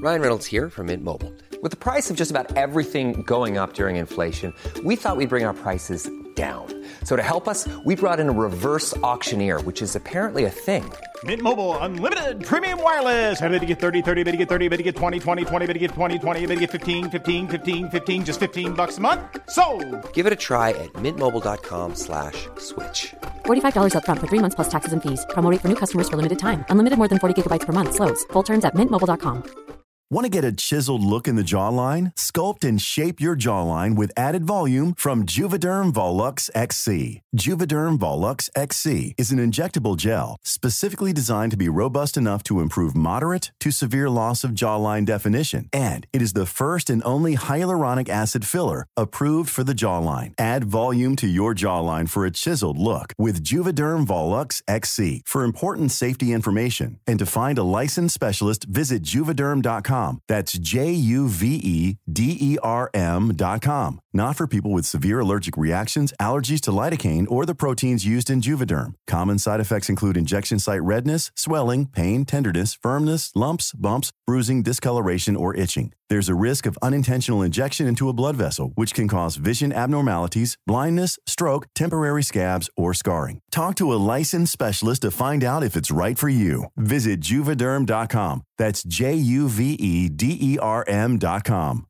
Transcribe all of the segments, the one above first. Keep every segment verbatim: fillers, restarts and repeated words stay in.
Ryan Reynolds here from Mint Mobile. With the price of just about everything going up during inflation, we thought we'd bring our prices down. So to help us, we brought in a reverse auctioneer, which is apparently a thing. Mint Mobile Unlimited Premium Wireless. How to get thirty, thirty, how to get thirty, how to get twenty, twenty, twenty, how to get twenty, twenty, how to get fifteen, fifteen, fifteen, fifteen, just fifteen bucks a month? Sold! Give it a try at mintmobile.com slash switch. forty-five dollars up front for three months plus taxes and fees. Promo rate for new customers for limited time. Unlimited more than forty gigabytes per month. Slows full terms at mint mobile dot com. Want to get a chiseled look in the jawline? Sculpt and shape your jawline with added volume from Juvederm Volux X C. Juvederm Volux X C is an injectable gel specifically designed to be robust enough to improve moderate to severe loss of jawline definition. And it is the first and only hyaluronic acid filler approved for the jawline. Add volume to your jawline for a chiseled look with Juvederm Volux X C. For important safety information and to find a licensed specialist, visit juvederm dot com. That's J U V E D E R M dot com. Not for people with severe allergic reactions, allergies to lidocaine, or the proteins used in Juvederm. Common side effects include injection site redness, swelling, pain, tenderness, firmness, lumps, bumps, bruising, discoloration, or itching. There's a risk of unintentional injection into a blood vessel, which can cause vision abnormalities, blindness, stroke, temporary scabs, or scarring. Talk to a licensed specialist to find out if it's right for you. Visit juvederm dot com. That's J U V E D E R M dot com.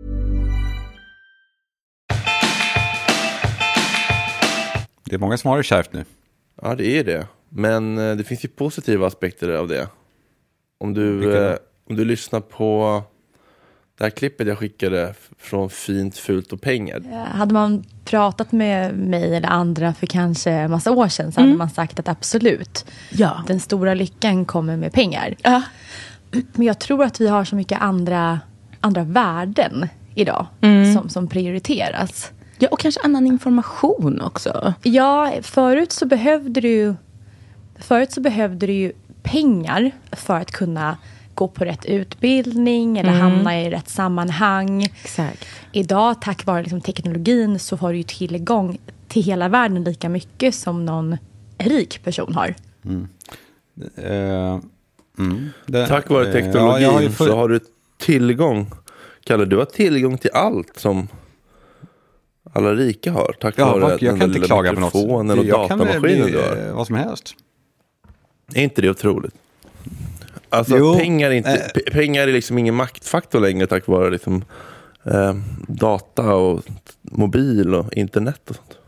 Det är många som har det kärvt nu. Ja, det är det. Men det finns ju positiva aspekter av det. Om du, eh, om du lyssnar på det här klippet jag skickade från Fint, fult och pengar. Hade man pratat med mig eller andra för kanske en massa år sedan så mm. hade man sagt att absolut. Ja. Den stora lyckan kommer med pengar. Ja. Men jag tror att vi har så mycket andra, andra värden idag mm. som, som prioriteras. Ja, och kanske annan information också. Ja, förut så behövde du ju, förut så behövde du ju pengar för att kunna gå på rätt utbildning eller mm. hamna i rätt sammanhang. Exakt. Idag, tack vare liksom teknologin, så har du ju tillgång till hela världen lika mycket som någon rik person har. Mm. Uh, mm. Det, tack vare teknologin uh, ja, har för... så har du tillgång. Kalle, du har tillgång till allt som alla rika har. Tack ja, vare jag kan inte klaga på något. Telefonen och datamaskinen du har. Vad som helst. Är inte det otroligt? Alltså jo, pengar, är inte, äh, p- pengar är liksom ingen maktfaktor längre tack vare liksom, eh, data och mobil och internet och sånt.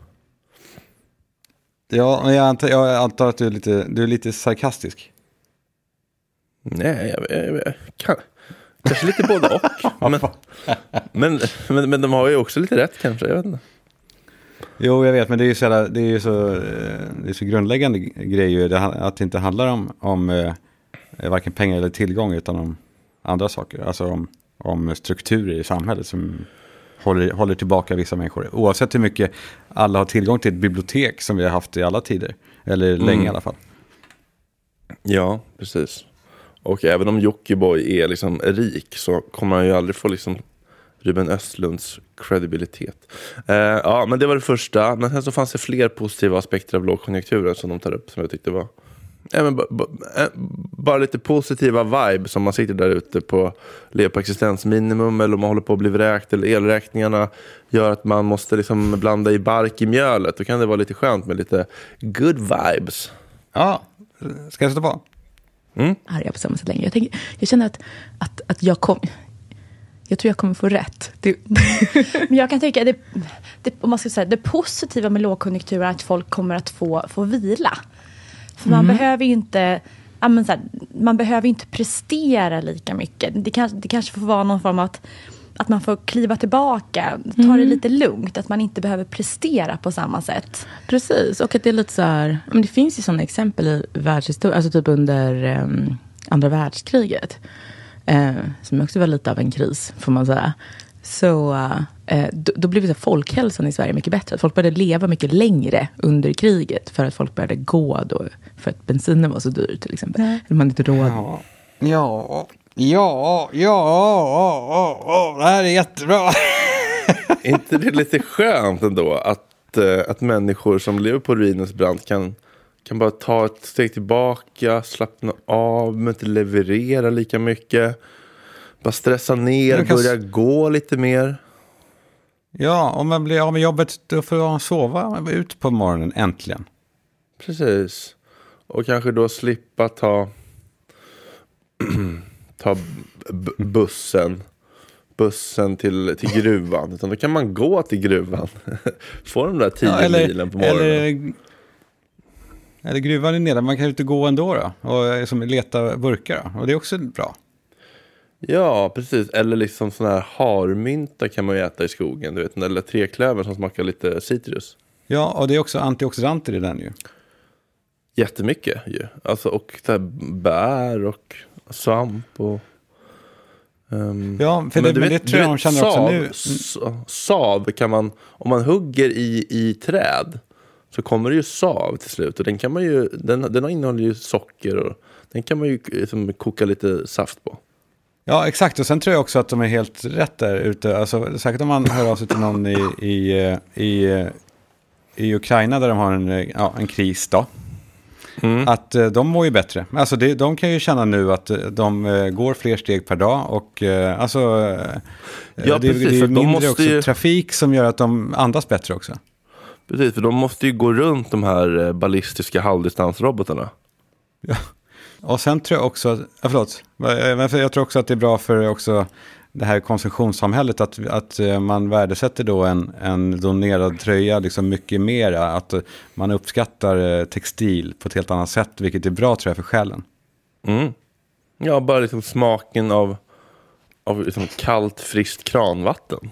Ja, jag antar, jag antar att du är lite, du är lite sarkastisk. Nej, jag, jag, jag kan, kanske lite både och. men, men, men, men de har ju också lite rätt kanske, jag vet inte. Jo, jag vet, men det är ju så, det är ju så, det är så grundläggande grejer att det inte handlar om, om varken pengar eller tillgång utan om andra saker. Alltså om, om strukturer i samhället som håller, håller tillbaka vissa människor. Oavsett hur mycket alla har tillgång till ett bibliotek som vi har haft i alla tider. Eller mm. länge i alla fall. Ja, precis. Och även om Jockiboi är liksom rik så kommer han ju aldrig få liksom Ruben Östlunds credibilitet. Uh, ja, men det var det första. Men sen så fanns det fler positiva aspekter av lågkonjunkturen som de tar upp som jag tyckte var ja, men b- b- bara lite positiva vibe som man sitter där ute på lever på existensminimum eller om man håller på att bli vräkt eller elräkningarna gör att man måste liksom blanda i bark i mjölet. Då kan det vara lite skönt med lite good vibes. Ja, ska jag sätta på? Mm. Här är jag på samma sätt länge. Jag, tänker, jag känner att, att, att jag kom... Jag tror jag kommer få rätt. Det... Men jag kan tycka det, det, om man ska säga, det positiva med lågkonjunktur är att folk kommer att få, få vila. För man mm. behöver ju inte ja, men så här, man behöver inte prestera lika mycket. Det, kan, det kanske får vara någon form av att, att man får kliva tillbaka, ta mm. det lite lugnt, att man inte behöver prestera på samma sätt. Precis, och att det är lite så här, men det finns ju sådana exempel i världshistorien, alltså typ under um, andra världskriget. Eh, som också var lite av en kris, får man säga. Så eh, då, då blev det så folkhälsan i Sverige mycket bättre. Folk började leva mycket längre under kriget för att folk började gå då, för att bensinen var så dyr till exempel. Mm. Eller man inte råd. Ja, ja, ja, ja, ja, ja, det här är jättebra. Är inte det lite skönt ändå att, att människor som lever på ruinens brant kan kan bara ta ett steg tillbaka, slappna av, men inte leverera lika mycket. Bara stressa ner, kan... börja gå lite mer. Ja, om man blir av med jobbet då får man sova ut på morgonen äntligen. Precis. Och kanske då slippa ta ta b- bussen bussen till, till gruvan. Utan då kan man gå till gruvan. Få de där tio ja, eller, milen på morgonen. Eller, eller gruvan är nere. Man kan ju inte gå ändå då. Och som leta burkar då. Och det är också bra. Ja, precis. Eller liksom sån här harmynta kan man ju äta i skogen. Du vet, eller träklöver som smakar lite citrus. Ja, och det är också antioxidanter i den ju. Jättemycket ju. Alltså, och där bär och svamp och... Um, ja, för det, men, men vet, det tror jag de känner sav, också nu. Sav kan man... Om man hugger i, i träd så kommer det ju sav till slut. Och den kan man ju... Den, den innehåller ju socker och den kan man ju liksom, koka lite saft på. Ja, exakt. Och sen tror jag också att de är helt rätt där ute. Alltså, säkert om man hör av sig till någon i, i, i, i Ukraina där de har en, ja, en kris då. Mm. Att uh, de mår ju bättre. Alltså det, de kan ju känna nu att de uh, går fler steg per dag. Och uh, alltså uh, ja, det, precis, det är för mindre de måste också ju... trafik som gör att de andas bättre också. Precis, för de måste ju gå runt de här ballistiska halvdistansrobotarna. Ja. Och sen tror jag också, ja, förlåt, jag tror också att det är bra för också det här konsumtionssamhället att, att man värdesätter då en, en donerad tröja liksom mycket mera, att man uppskattar textil på ett helt annat sätt, vilket är bra tror jag för själen. Mm. Ja, bara liksom smaken av, av liksom kallt, friskt kranvatten.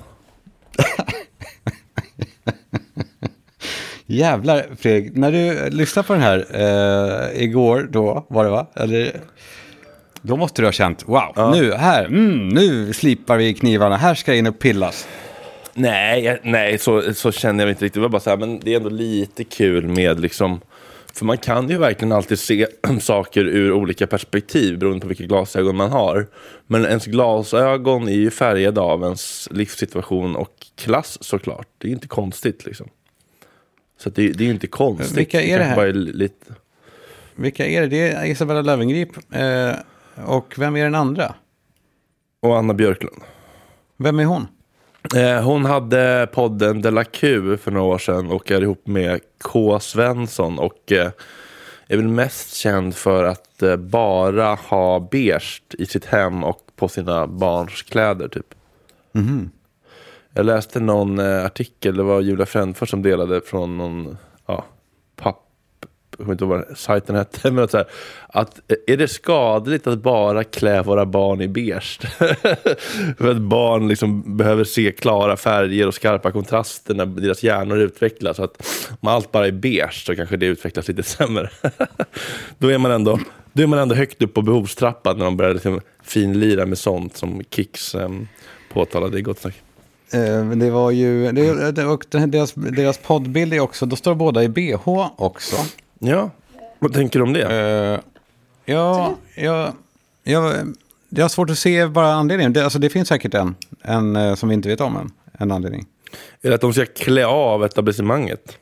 Jävlar, Fredrik, när du lyssnade på den här eh, igår då, var det va? Eller, då måste du ha känt, wow, ja. nu, här, mm, nu slipar vi knivarna, här ska jag in och pillas. Nej, nej så, så känner jag inte riktigt. Det var bara så här, men det är ändå lite kul med liksom, för man kan ju verkligen alltid se saker ur olika perspektiv beroende på vilka glasögon man har. Men ens glasögon är ju färgade av ens livssituation och klass såklart. Det är inte konstigt liksom. Så det, det är ju inte konstigt. Vilka är det här? Bara är lite... Vilka är det? Det är Isabella Löwengrip. Eh, och vem är den andra? Och Anna Björklund. Vem är hon? Eh, hon hade podden De La Q för några år sedan och är ihop med K. Svensson. Och eh, är väl mest känd för att eh, bara ha beige i sitt hem och på sina barns kläder typ. Mhm. Jag läste någon eh, artikel, det var Julia Frändfors som delade från någon ja, papp, jag vet inte vad sajten hette, men att, så här, att är det skadligt att bara klä våra barn i beige? För att barn liksom behöver se klara färger och skarpa kontraster när deras hjärnor utvecklas. Så att om allt bara är beige så kanske det utvecklas lite sämre. Då är man ändå, då är man ändå högt upp på behovstrappan när de börjar liksom finlira med sånt som Kicks eh, påtalade i Gott Snack. Men det var ju det, och deras, deras poddbild är också, då står båda i B H också. Ja, vad tänker du om det? Uh, ja, jag, jag, jag har svårt att se bara anledningen. Det, alltså det finns säkert en, en som vi inte vet om än, en anledning. Är det att de ska klä av etablissemanget?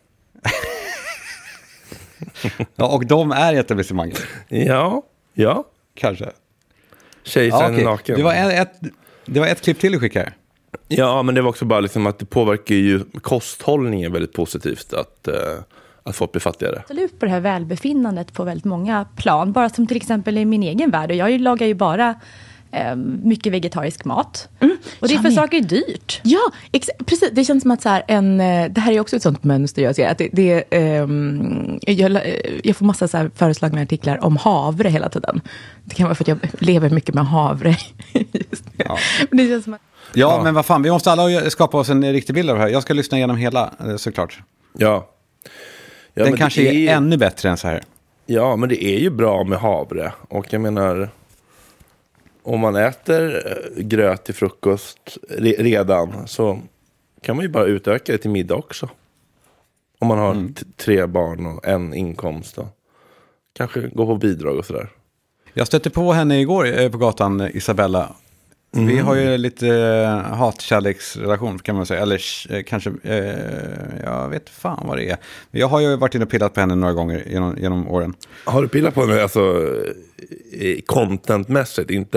Ja, och de är etablissemanget. Ja, ja. Kanske. Kejsaren ja, okay. är naken. Det var ett, det var ett klipp till du skickade. Ja, men det var också bara liksom att det påverkar ju kosthållningen väldigt positivt att, uh, att folk blir fattigare. Absolut på det här välbefinnandet på väldigt många plan. Bara som till exempel i min egen värld. Och jag lagar ju bara eh, mycket vegetarisk mat. Mm, och det är för med. saker är dyrt. Ja, ex- precis. Det känns som att så här, en, det här är också ett sånt mönster jag ser. Att det, det, eh, jag, jag får massa så här föreslagna artiklar om havre hela tiden. Det kan vara för att jag lever mycket med havre. Just det. Ja. Men det känns som att Ja, ja, men vad fan, vi måste alla skapa oss en riktig bild av det här. Jag ska lyssna igenom hela, såklart. Ja. ja Den kanske är, är ännu bättre än så här. Ja, men det är ju bra med havre. Och jag menar, om man äter gröt till frukost re- redan så kan man ju bara utöka det till middag också. Om man har mm. t- tre barn och en inkomst då. Kanske gå på bidrag och sådär. Jag stötte på henne igår på gatan, Isabella. Mm. Vi har ju lite uh, hatkärleksrelation kan man säga. Eller uh, kanske, uh, jag vet fan vad det är. Jag har ju varit inne och pillat på henne några gånger genom, genom åren. Har du pillat på henne alltså contentmässigt, inte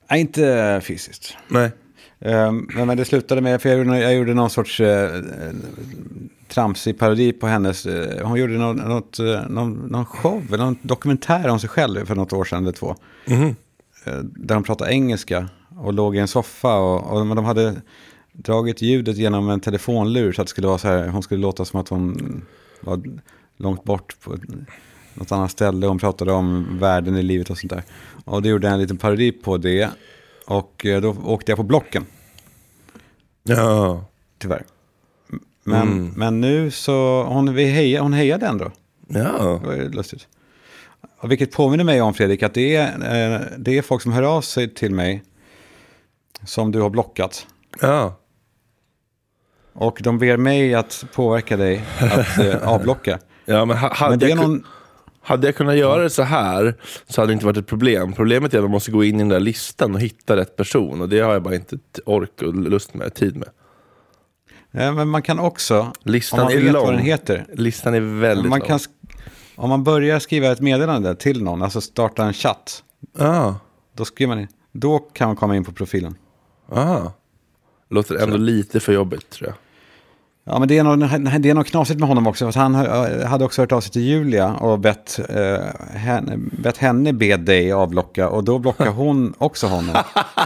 Nej, inte fysiskt. Nej. Um, men, men det slutade med, för jag gjorde, jag gjorde någon sorts uh, tramsig parodi på hennes, uh, hon gjorde någon, något, uh, någon, någon show, eller någon dokumentär om sig själv för något år sedan eller två. Mm. Uh, där de pratade engelska och låg i en soffa och, och de hade dragit ljudet genom en telefonlur så att det skulle vara så här, hon skulle låta som att hon var långt bort på något annat ställe. Hon pratade om världen i livet och sånt där. Och det gjorde en liten parodi på det. Och då åkte jag på blocken. Ja. Tyvärr. Men, Mm. men nu så, hon, vi heja, hon hejade ändå. Ja. Det var ju lustigt. Och vilket påminner mig om, Fredrik, att det är, eh, det är folk som hör av sig till mig som du har blockat. Ja. Och de ber mig att påverka dig att eh, avblocka. Ja, men, ha, hade, Men det är jag, någon... hade jag kunnat göra det så här så hade det inte varit ett problem. Problemet är att man måste gå in i den där listan och hitta rätt person. Och det har jag bara inte ork och lust med, tid med. Ja, men man kan också, Listan om man är vet lång. vad den heter. Listan är väldigt man lång. kan, om man börjar skriva ett meddelande till någon, alltså starta en chatt. Ah. Då skriver man in. Då kan man komma in på profilen. Ah. Låter ändå lite för jobbigt, tror jag. Ja, men det är något, det är något knasigt med honom också. För han hade också hört av sig till Julia och bett, eh, henne, bett henne be dig avblocka. Och då blockar hon också honom.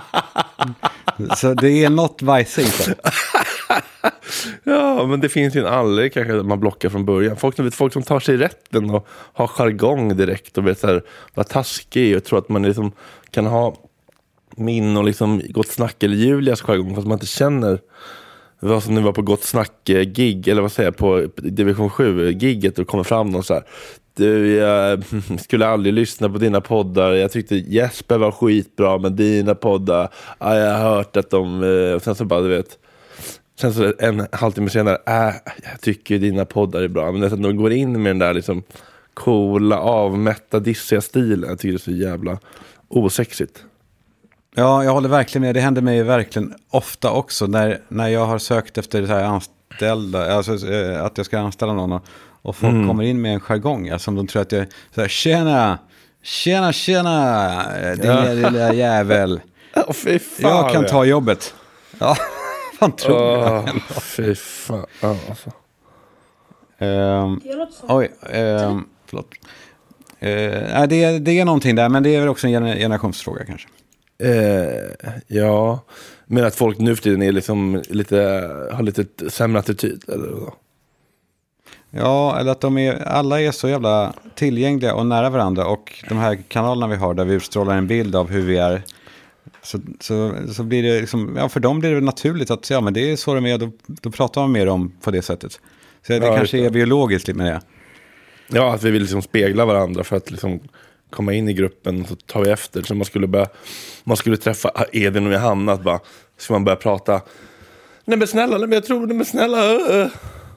Så det är något vajsigt. Ja, men det finns ju en anledning kanske att man blockar från början. Folk som, vet, folk som tar sig rätten och har jargong direkt och vet så här, vad taskig är och tror att man liksom kan ha min och liksom gott snack eller Julias jargong fast man inte känner. Det var som när vi var på Gott Snack-gig, eller vad säger jag, på division sju-gigget och kommer fram någon så här. Du, jag skulle aldrig lyssna på dina poddar. Jag tyckte Jesper var skitbra, men dina poddar, ja, jag har hört att de... Och sen så bara, du vet... Sen så en halvtimme senare, äh, jag tycker dina poddar är bra. Men när de går in med den där liksom coola, avmätta, dissiga stilen, jag tycker det är så jävla osexigt. Ja, jag håller verkligen med. Det händer mig verkligen ofta också när, när jag har sökt efter så här anställda, alltså att jag ska anställa någon och folk mm. kommer in med en jargong, alltså, som de tror att jag så här, tjena, tjena, tjena, din ja. lilla jävel. Oh, fy fan, jag kan ta jobbet. Ja, fan tror oh, jag. Fy fan, oh, alltså. Um, oj, um, förlåt. Uh, det, är, det är någonting där, men det är väl också en generationsfråga kanske. Eh, ja, men att folk nu för tiden är liksom lite, har lite sämre attityd eller då? Ja, eller att de är, alla är så jävla tillgängliga och nära varandra, och de här kanalerna vi har där vi utstrålar en bild av hur vi är, så, så, så blir det liksom, ja, för dem blir det naturligt att ja, men det är så de är, då, då pratar man med dem på det sättet. Så det ja, kanske är biologiskt lite med det. Ja, att vi vill liksom spegla varandra för att liksom komma in i gruppen, så tar vi efter. Så man skulle börja, man skulle träffa Edin och Johanna, att bara, så man börja prata. Nej men snälla, nej men jag tror, nej men snälla. Uh.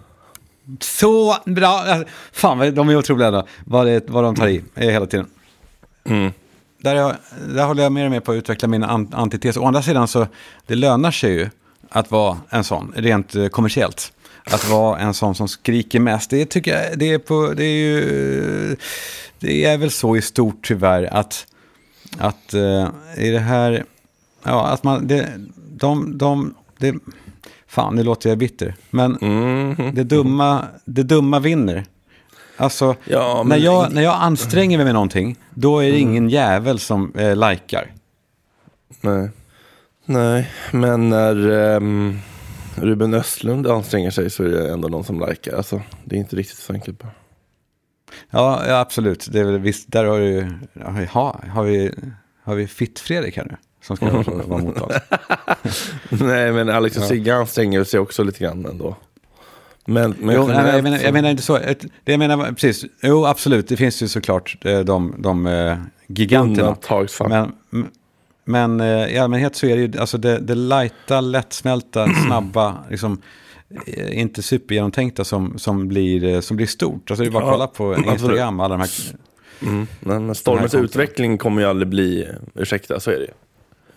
Så bra. Fan, de är otroliga då. Vad, det, vad de tar i hela tiden. Mm. Där, jag, där håller jag mer och mer på att utveckla min antites. Å andra sidan så, det lönar sig ju att vara en sån, rent kommersiellt. Att vara en sån som skriker mest. Det tycker jag, det är på, det är ju, det är väl så i stort tyvärr att, att uh, i det här, ja, att man, det, de, de, det, fan, nu låter jag bitter, men mm. det dumma, det dumma vinner. Alltså, ja, men... när, jag, när jag anstränger mig med någonting, då är det mm. ingen jävel som eh, likar. Nej. Nej, men när um, Ruben Östlund anstränger sig så är det ändå någon som likar. Alltså, det är inte riktigt så enkelt bara. Ja, ja, absolut. Det är väl visst, där har du, ja, har vi, har vi Fitt-Fredrik här nu som ska mm. vara mot oss. Nej, men Alex och Sigge anstränger sig också lite grann ändå. Men, men jo, nej, jag, menar, jag menar inte så. Det jag menar precis. Jo, absolut. Det finns ju såklart de, de, de uh, giganterna. Men, men uh, i allmänhet så är det ju alltså det, det lighta, lättsmälta, snabba, liksom uh, inte supergenomtänkta som, som, blir, som blir stort. Alltså det är bara att kolla på Instagram. Alla de här, mm. Men stormens utveckling kommer ju aldrig bli, ursäkta, så är det.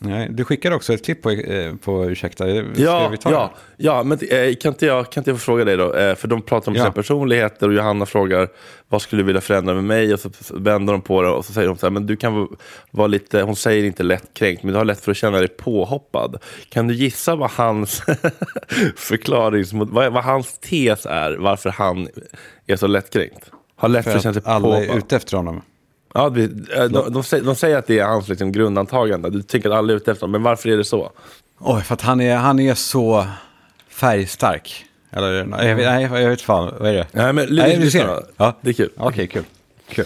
Nej, du skickade också ett klipp på, eh, på ursäkta. Ska Ja, vi ta ja, ja, men eh, kan, inte jag, kan inte jag få fråga dig då? Eh, för de pratar om Ja. sina personligheter och Johanna frågar vad skulle du vilja förändra med mig? Och så vänder de på det och så säger de så här, men du kan vara lite, hon säger inte lättkränkt, men du har lätt för att känna dig påhoppad. Kan du gissa vad hans förklaring, vad, vad hans tes är, varför han är så lättkränkt? Har lätt för, för att känna sig att alla påhoppad. är ute efter honom. Ja, de, de, de, säger, de säger att det är hans liksom, grundantagande. Du tänker att alla är ute efter honom, men varför är det så? Oj, för att han är, han är så färgstark. Eller, nej, jag vet, nej, jag vet fan, vad är det? Nej, men nej, lyssna. ser. Ja. Det är kul. Okej, okay, kul. Kul.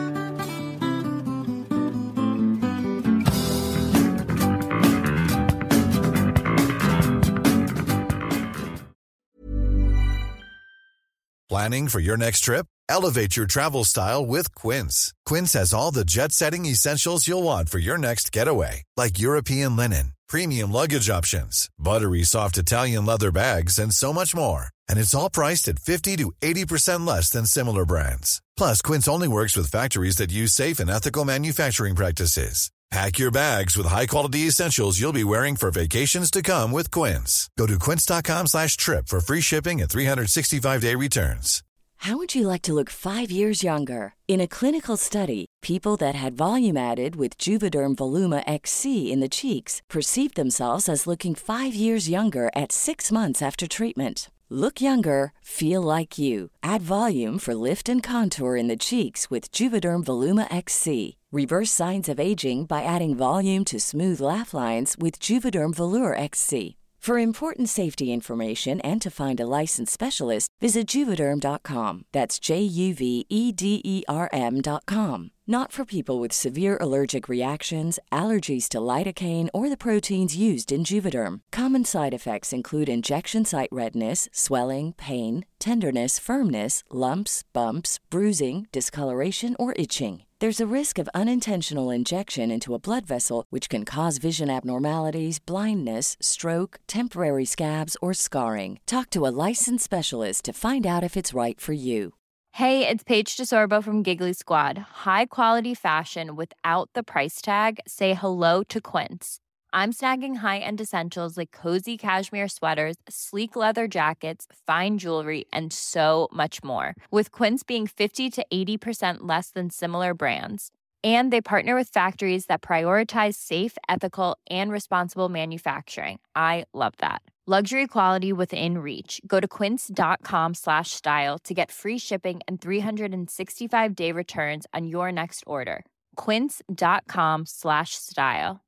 Planning for your next trip? Elevate your travel style with Quince. Quince has all the jet-setting essentials you'll want for your next getaway, like European linen, premium luggage options, buttery soft Italian leather bags, and so much more. And it's all priced at fifty to eighty percent less than similar brands. Plus, Quince only works with factories that use safe and ethical manufacturing practices. Pack your bags with high-quality essentials you'll be wearing for vacations to come with Quince. Go to quince.com slash trip for free shipping and three sixty-five day returns. How would you like to look five years younger? In a clinical study, people that had volume added with Juvederm Voluma X C in the cheeks perceived themselves as looking five years younger at six months after treatment. Look younger, feel like you. Add volume for lift and contour in the cheeks with Juvederm Voluma X C. Reverse signs of aging by adding volume to smooth laugh lines with Juvederm Volure X C. For important safety information and to find a licensed specialist, visit Juvederm dot com. That's J U V E D E R M dot com. Not for people with severe allergic reactions, allergies to lidocaine, or the proteins used in Juvederm. Common side effects include injection site redness, swelling, pain, tenderness, firmness, lumps, bumps, bruising, discoloration, or itching. There's a risk of unintentional injection into a blood vessel, which can cause vision abnormalities, blindness, stroke, temporary scabs, or scarring. Talk to a licensed specialist to find out if it's right for you. Hey, it's Paige DeSorbo from Giggly Squad. High quality fashion without the price tag. Say hello to Quince. I'm snagging high-end essentials like cozy cashmere sweaters, sleek leather jackets, fine jewelry, and so much more. With Quince being fifty to eighty percent less than similar brands. And they partner with factories that prioritize safe, ethical, and responsible manufacturing. I love that. Luxury quality within reach. Go to quince.com slash style to get free shipping and three sixty-five day returns on your next order. Quince.com slash style.